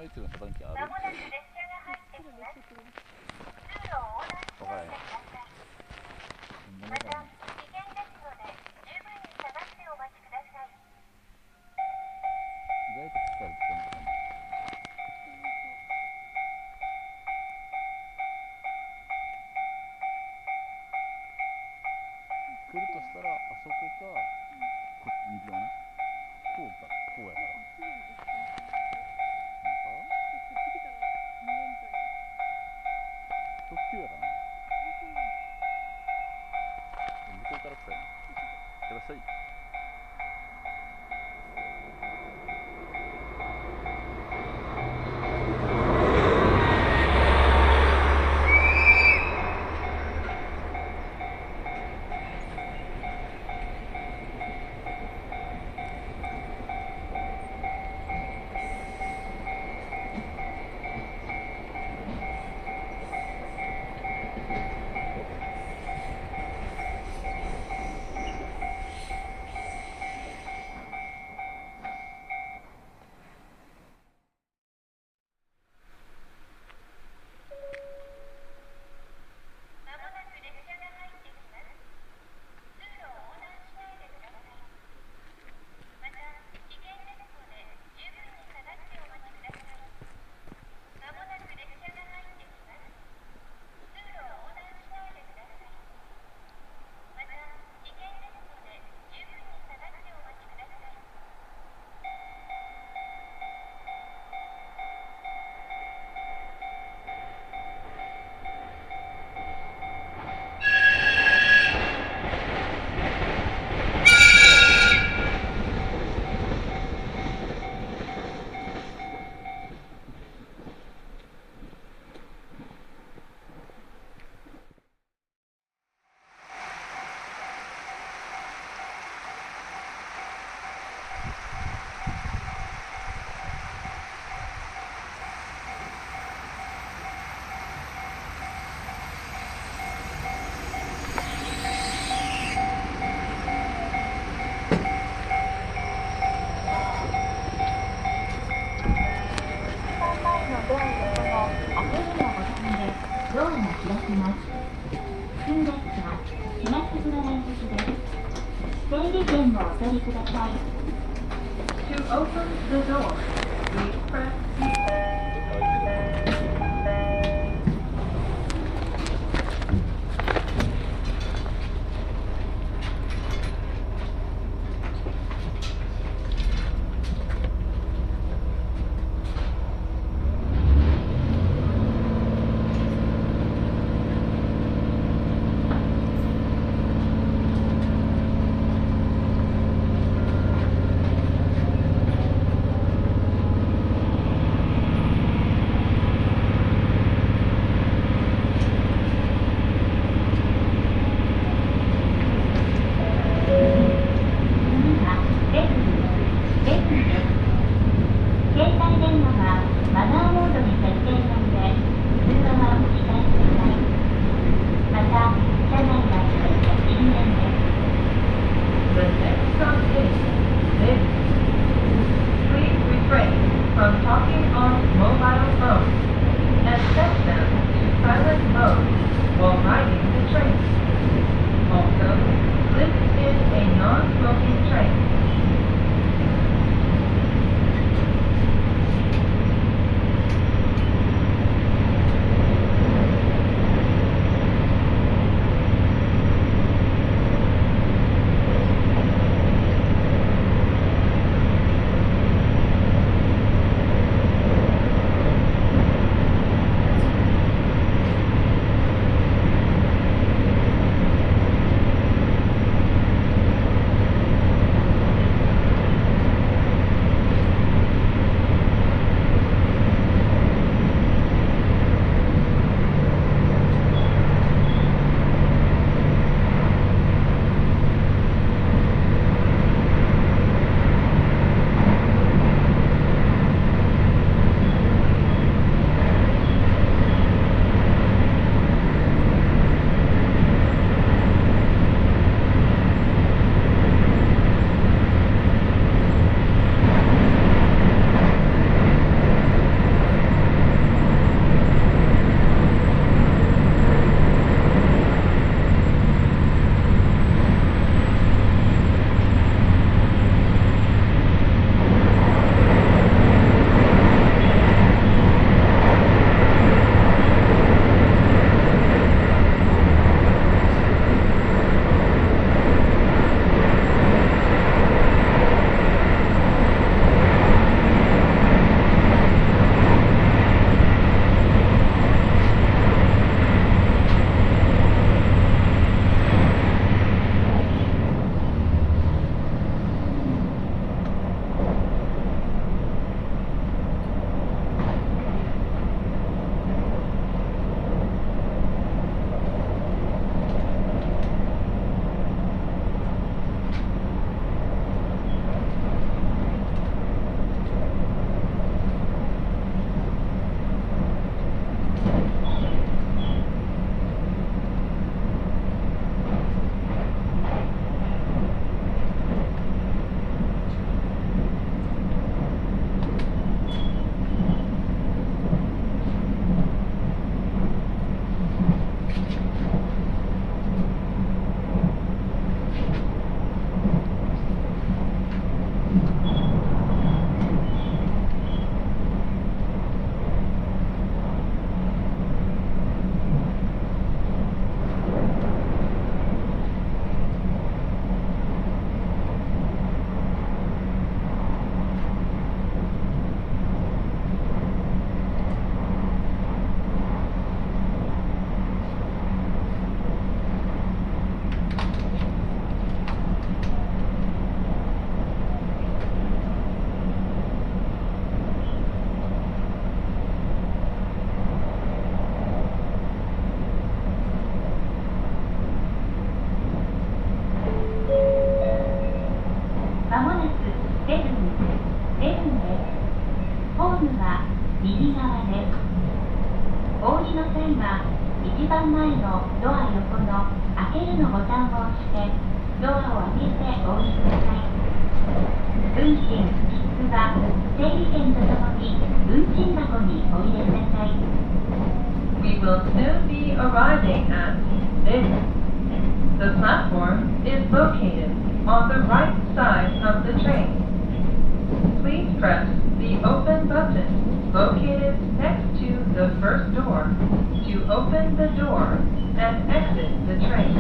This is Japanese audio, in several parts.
いつの遮断機ある？ まもなく列車が入ってきます。通路を横断しないでください。また、危険ですので、十分に下がってお待ちください。 意外と疲れてるのかな。来るとしたら、あそこか、右側な。こうか、こうやから。特急やからな。向こうから来たよな。いらっしゃい。 ドアが開きます。普通列車、島津村連結です。整理券をお取りください。To open the door, please press の際は一番前のドア横の開けるのボタンを押してドアを開けてお降りください。運賃、切符は整理券とともに運賃箱にお入れください。We will soon be arriving at this. The platform is located on the right side of the train. Please press the open button located next to the first door to open the door and exit the train.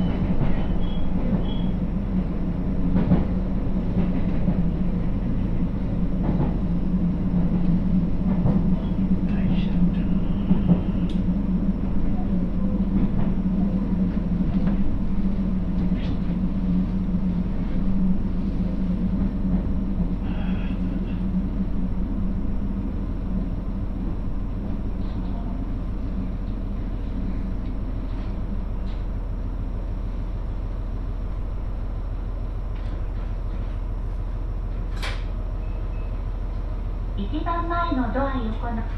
一番前のドア横の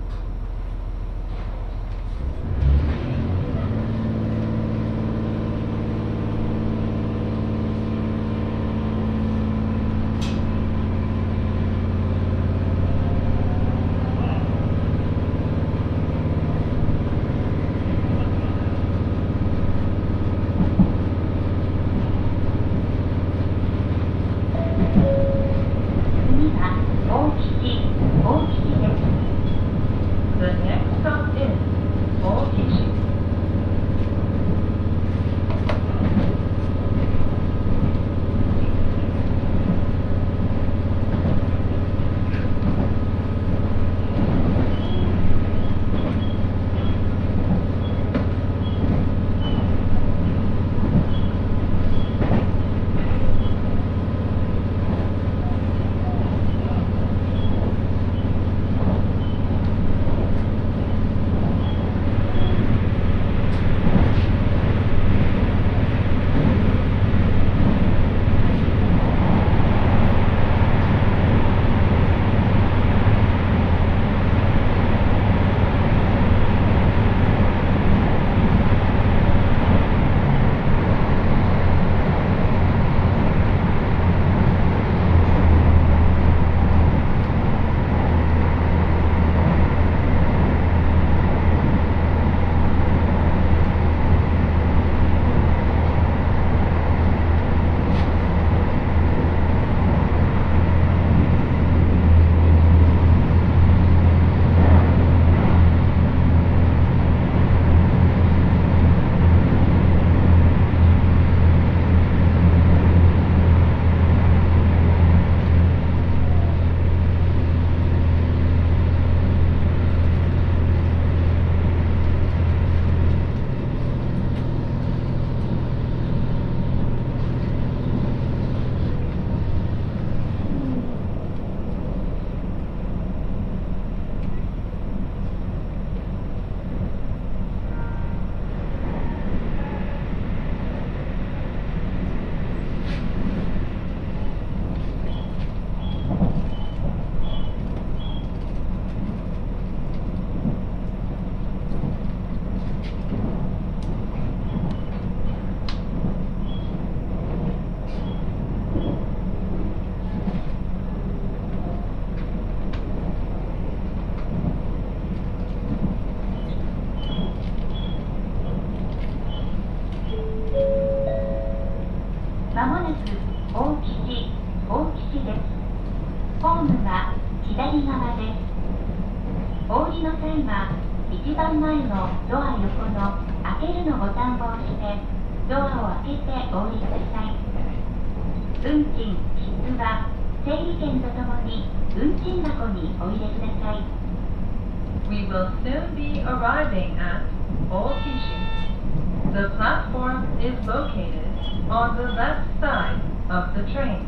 まもなく大吉です。ホームは左側です。お降りの際は一番前のドア横の開けるのボタンを押してドアを開けてお降りください。運賃、切符は整理券とともに運賃箱にお入れください。We will soon be arriving at Okishi. The platform is located on the left side of the train.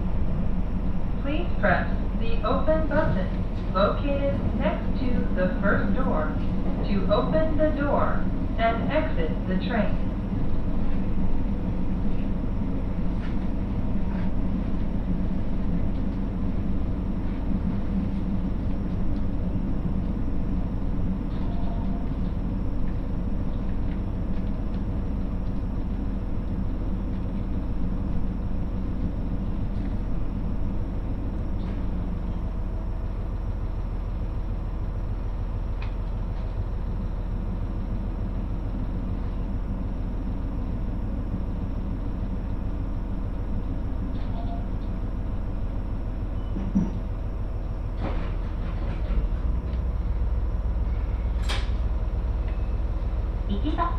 Please press the open button located next to the first door to open the door and exit the train. こ 1番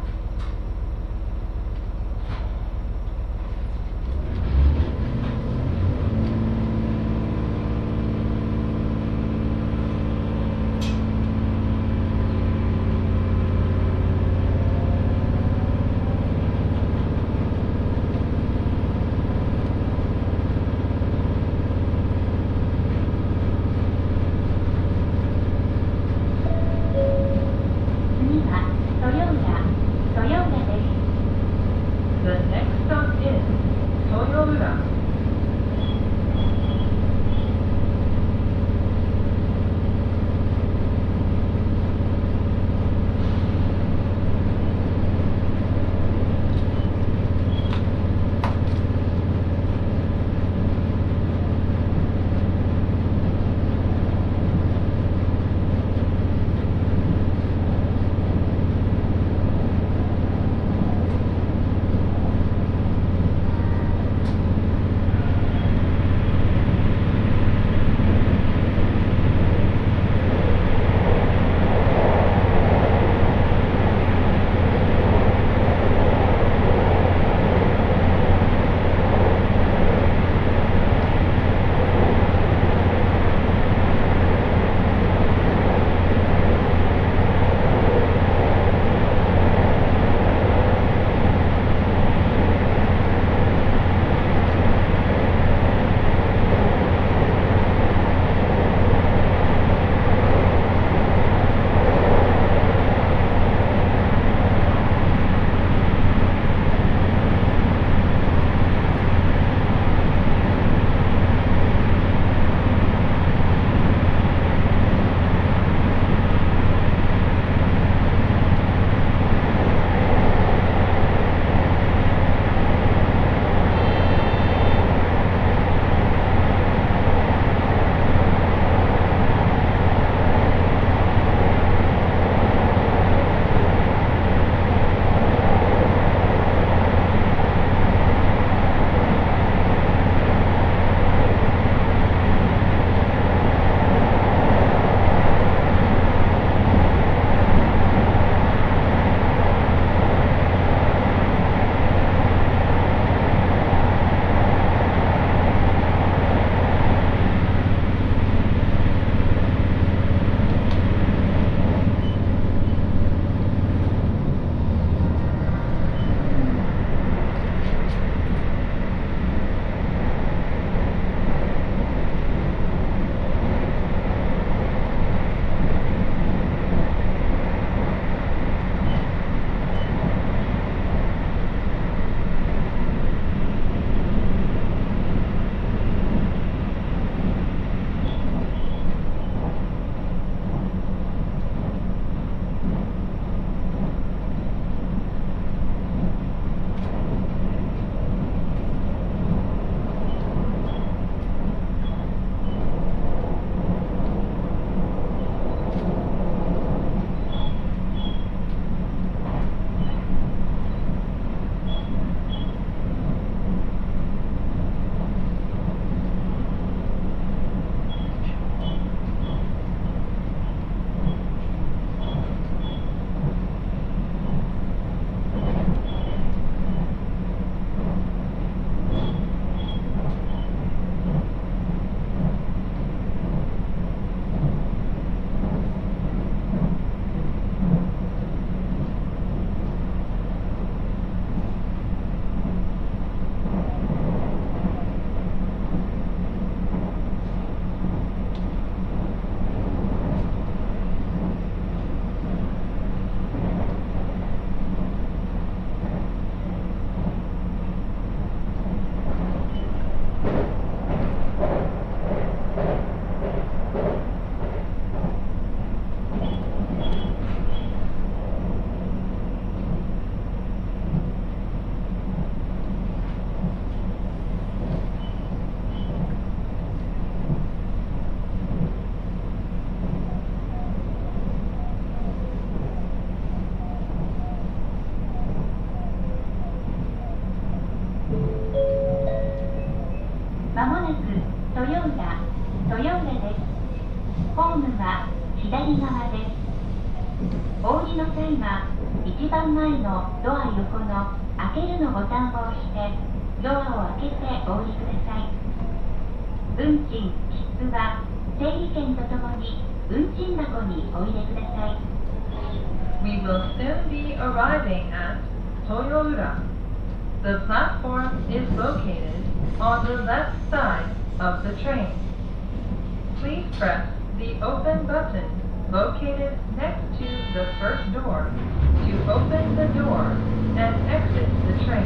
まもなく豊浦です。ホームは左側です。お降りの際は一番前のドア横の開けるのボタンを押してドアを開けてお降りください。運賃、切符は整理券とともに運賃箱にお入れください。We will soon be arriving at Toyoura. The platform is located on the left side of the train. Please press the open button located next to the first door to open the door and exit the train.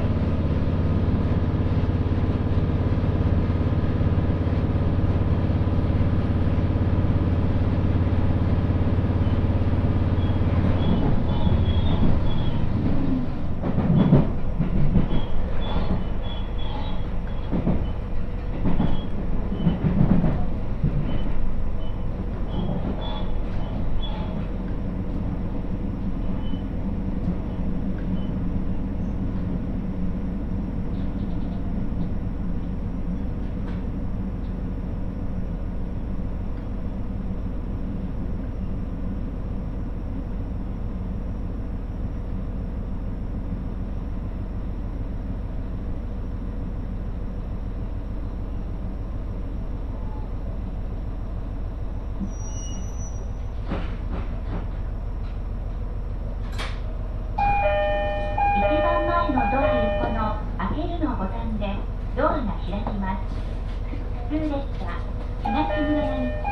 ドアが開きます。普通列車東村山行き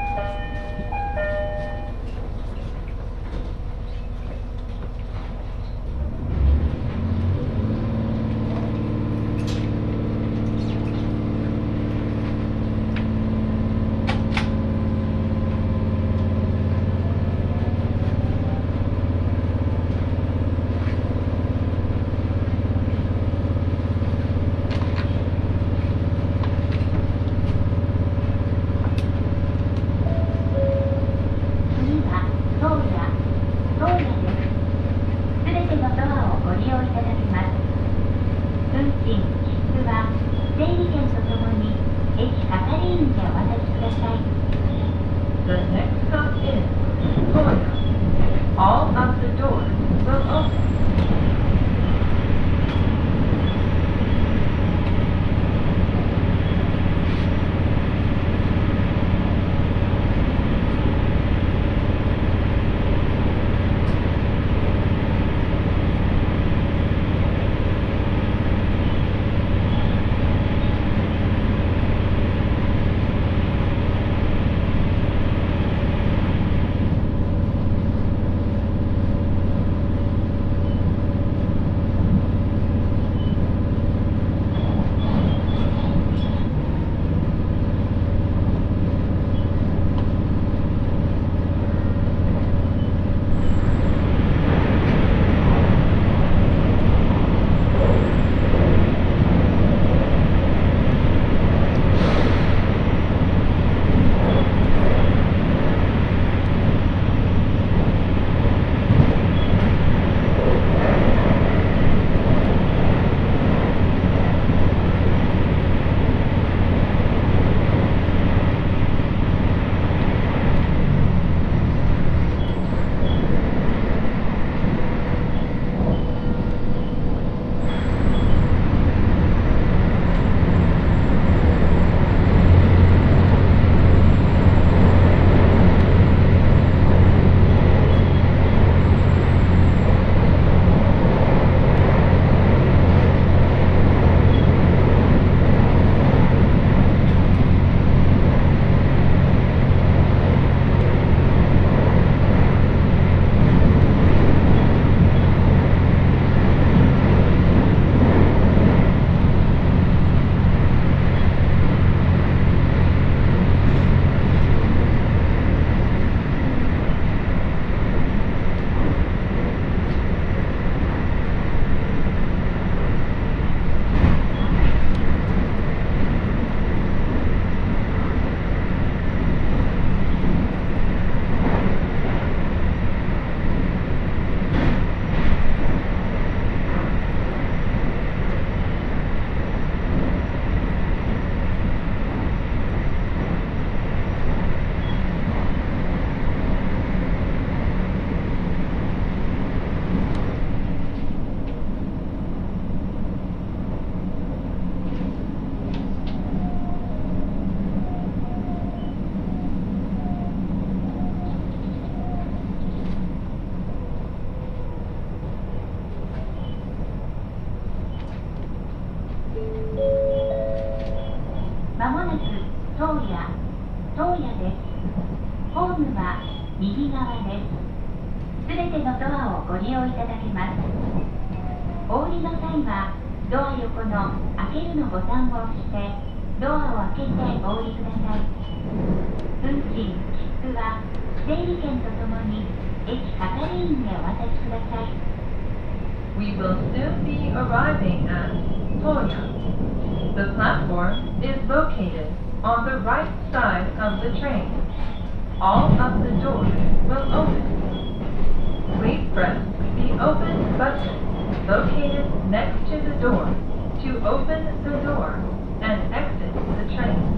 アをご利用いただけます。お降りの際はドア横の開けるのボタンを押してドアを開けてお降りください。運賃、切符は整理券とともに駅係員へお渡しください。We will soon be arriving at Toya. The platform is located on the right side of the train. All of the doors will open. Please press the open button located next to the door to open the door and exit the train.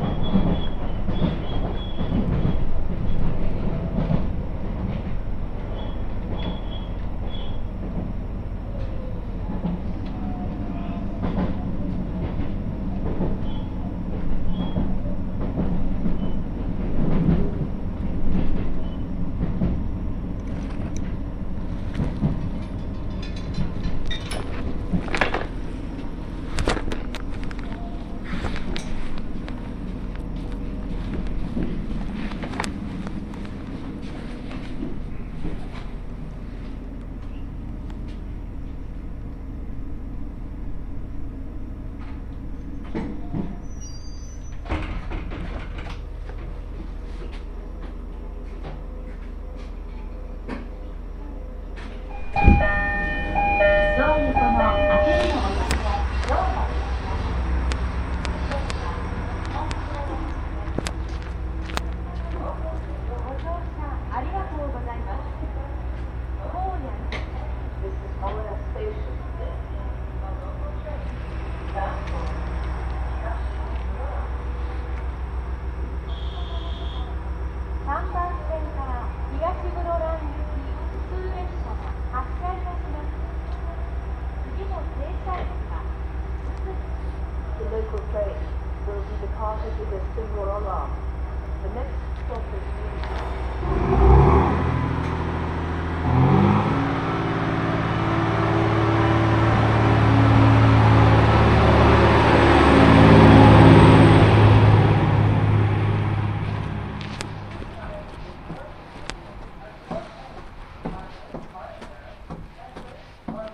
The local train will be departed with a single alarm. The next stop is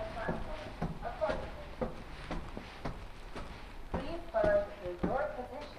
Please find the door position